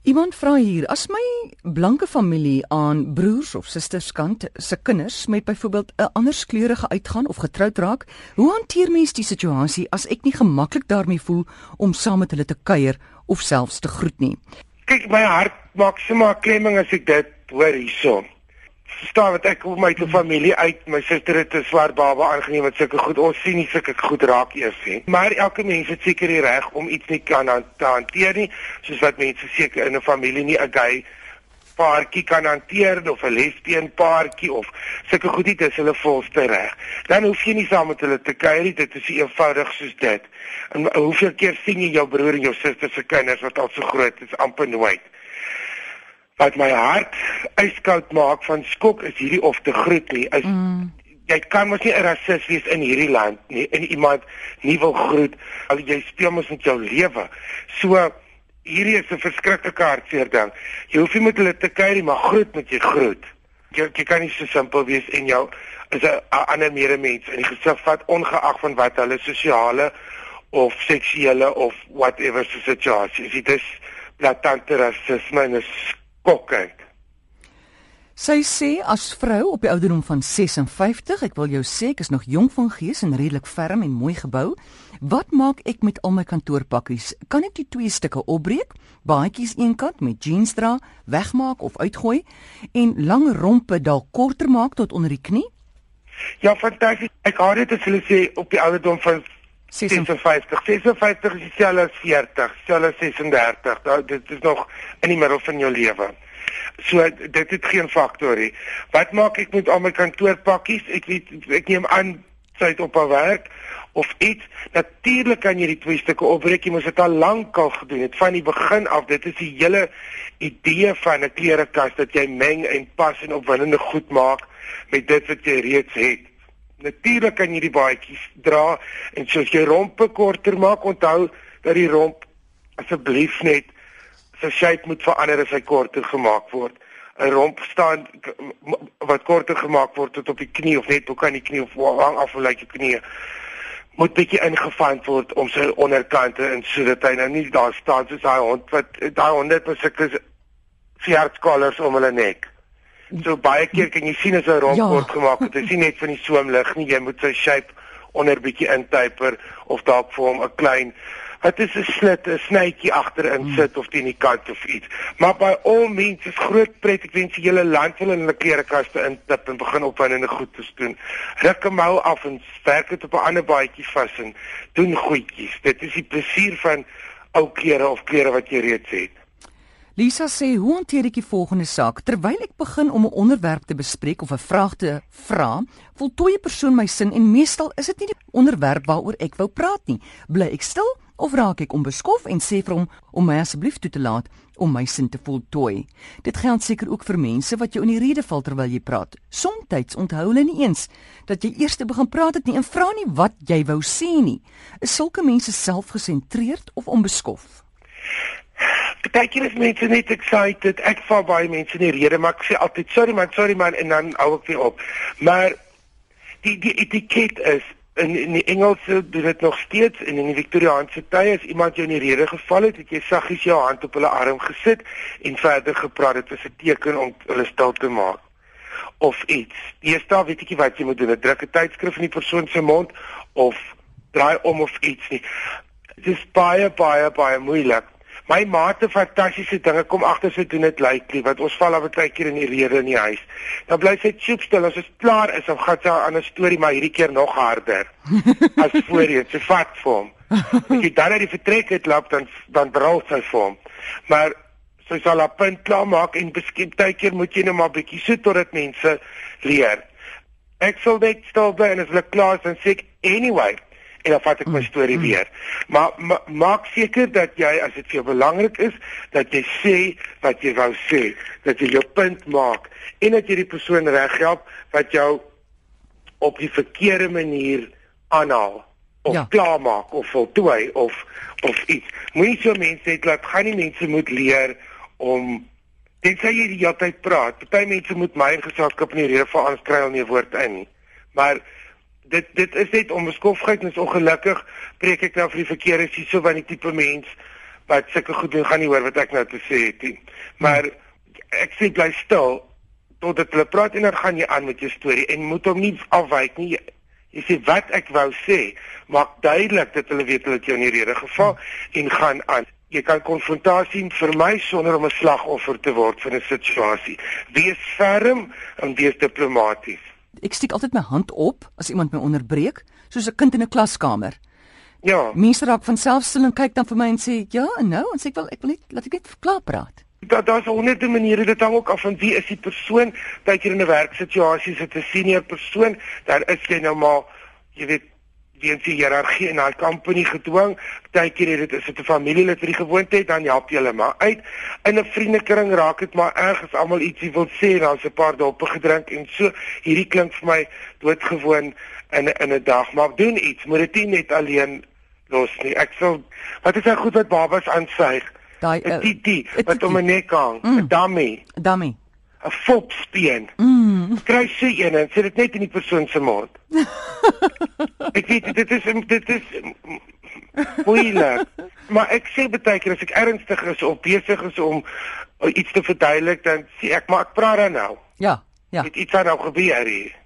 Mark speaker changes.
Speaker 1: Iemand vra hier, as my blanke familie aan broers of susters kant se kinders met byvoorbeeld 'n anderskleurige uitgaan of getroud raak, hoe hanteer mens die situasie as ek nie gemaklik daarmee voel om saam met hulle te kuier of selfs te groet nie?
Speaker 2: Kyk, my hart maak sommer klemming as ek dit hoor hierso. Verstaan wat ek op my familie uit, my suster het 'n swart baba aangeneem met sulke goed. Ons sien nie sulke goed raak eers nie. Maar elke mens het seker die reg om iets nie kan hanteer nie, soos wat mense seker in 'n familie nie 'n gay paartjie kan hanteer of 'n lesbien paartjie of sulke goed nie, dis hulle volste reg. Dan hoef jy nie saam met hulle te kuier nie, dit is eenvoudig soos dit. En hoeveel keer sien jy jou broer en jou suster se kinders wat al so groot is, amper nooit. Wat my hart yskoud maak van skok is hierdie of te groet nie. Jy kan mos nie 'n rasis wees in hierdie land nie en iemand nie wil groet. Al jy speel mos met jou lewe. So hierdie is 'n verskriklike hartseer ding. Jy hoef nie met hulle te kuier nie, maar groet moet jy groet. Jy kan nie so simpel wees en jou is 'n ander medemens in die gesig vat ongeag van wat hulle sosiale of seksuele of whatever situasie is. Dit is blaatante rasisme en is skokkend.
Speaker 1: Sy sê as vrou op die ouderdom van 56, ek wil jou sê ek is nog jong van gees en redelik ferm en mooi gebou. Wat maak ek met al my kantoorpakkies? Kan ek die 2 stukke opbreek, baadjies eenkant met jeans dra, wegmaak of uitgooi en lang rompe dalk korter maak tot onder die knie?
Speaker 2: Ja, fantasties. Ek hoor dit as hulle sê op die ouderdom van 56. 56 is dieselfde as 40, dieselfde as 36. Dit is nog in die middel van jou lewe. So dit het geen faktor nie. Wat maak ek met al my kantoorpakkies? Ek neem aan sy het op haar werk of iets. Natuurlik kan jy die 2 stukke opbreek. Jy moes dit al lank al gedoen het van die begin af. Dit is die hele idee van 'n klerekas dat jy meng en pas en opwindende goed maak met dit wat jy reeds het. Natuurlik kan jy die baadjies dra en soos jy rompe korter maak, onthou dat die romp asseblief net sy shape moet verander as hy korter gemaak word. 'n Romp staan wat korter gemaak word tot op die knie of net ook aan die knie of hang af hoe lyk jou knie, moet bietjie ingevand word om sy onderkante en sodat hy nou nie daar staan soos daai hond wat daai honde het sulke veertskallers om hulle nek. So baie keer kan jy sien as 'n romp word gemaak, dit is nie net van die soemlig nie, jy moet sy shape onder bietjie intyper of dalk vir hom 'n klein het is 'n slit, 'n snytjie agterin sit of teen die kant of iets. Maar by al mense is groot pret, ek wens die hele land wil in hulle klerekaste intip en begin opwindende goed te doen. Ruk 'n mou af en werk dit op 'n ander baadjie vas en doen goedjies. Dit is die plesier van ou klere of klere wat jy reeds het.
Speaker 1: Lisa sê, hoe hanteer ek die volgende saak? Terwyl ek begin om 'n onderwerp te bespreek of 'n vraag te vra, voltooi 'n persoon my sin en meestal is dit nie die onderwerp waaroor ek wou praat nie. Bly ek stil of raak ek onbeskof en sê vir hom om my asseblief toe te laat om my sin te voltooi? Dit geld seker ook vir mense wat jou in die rede val terwyl jy praat. Somstyds onthou hulle nie eens dat jy eers begin praat het nie en vra nie wat jy wou sê nie. Is sulke mense selfgesentreerd of onbeskof?
Speaker 2: Partykeer is mense net excited. Ek val baie mense in die rede, maar ek sê altyd sorry man en dan hou ek weer op. Maar die etiket is in die Engelse doen dit nog steeds en in die Victoriaanse tye as iemand jou in die rede geval het jy saggies jou hand op hulle arm gesit en verder gepraat. Dit was 'n teken om hulle stil te maak of iets. Deesdae weet ek nie wat jy moet doen. Druk 'n tydskrif in die persoon se mond of draai om of iets nie. Dit is baie moeilik. My maate fantastiese dinge kom agter sy doen dit lightly, want ons val al baie keer in die rede in die huis. Dan bly sy soepstil as dit klaar is, dan gaan sy aan 'n storie, maar hierdie keer nog harder as voorheen. Sy vat vir hom. As jy dan uit die vertrek uitloop, dan brul sy vir hom. Maar sy sal haar punt klaar maak en beskep baie keer moet jy nou maar bietjie so totdat mense leer. Ek sal net stil bly en as hulle klaar is, dan sê ek anyway. En dan vat ek my storie weer. Maar maak seker dat jy, as dit vir jou belangrik is, dat jy sê wat jy wou sê. Dat jy jou punt maak. En dat jy die persoon reg help wat jou op die verkeerde manier aanhaal. Of klaarmaak, of voltooi, of iets. Moenie so mense het, laat gaan nie mense moet leer om, tensy jy die hele tyd praat. Party mense moet my geselskap in die rede van anders kry al nie 'n woord in nie. Maar dit is net onbeskofheid en is ongelukkig preek ek nou vir die verkeerde hierso van die tipe mens wat sulke goed doen gaan nie hoor wat ek nou te sê het nie. Maar ek sê bly stil totdat hulle praat en dan gaan jy aan met jou storie en moet hom nie afwyk nie. Jy sê wat ek wou sê, maak duidelik dat hulle weet hulle het jou in die rede geval en gaan aan. Jy kan konfrontasie vermy sonder om 'n slagoffer te word van 'n situasie. Wees ferm en wees diplomaties.
Speaker 1: Ek steek altyd my hand op as iemand my onderbreek, soos 'n kind in 'n klaskamer.
Speaker 2: Ja.
Speaker 1: Mense raak van self stil en kyk dan vir my en sê, "Ja, nou," en sê ek wil net laat ek net klaar praat.
Speaker 2: Daar's honderde maniere, dit hang ook af van wie is die persoon. Partykeer in 'n werksituasie is dit 'n senior persoon, dan is jy nou maar, jy weet, weens die hiërargie in daai company gedwing. Partykeer is dit 'n familielid wat die gewoonte het, dan help jy hulle maar uit. In 'n vriendekring raak dit maar erg as almal ietsie wil sê en dan's 'n paar doppe gedrink en so. Hierdie klink vir my doodgewoon in 'n dag, maar doen iets, moet dit nie net alleen los nie. Ek sal, wat is nou goed wat babas aansuig?
Speaker 1: Daai
Speaker 2: 'n titi wat om 'n nek hang, 'n dummy,
Speaker 1: 'n
Speaker 2: fopspeen. Kry so een en sit dit net in die persoon se mond. Ek weet dit is moeilik. Maar ek sê baie keer as ek ernstig is of besig is om iets te verduidelik, dan sê ek maar ek praat dan nou.
Speaker 1: Ja.
Speaker 2: Het iets aan nou gebeur hier.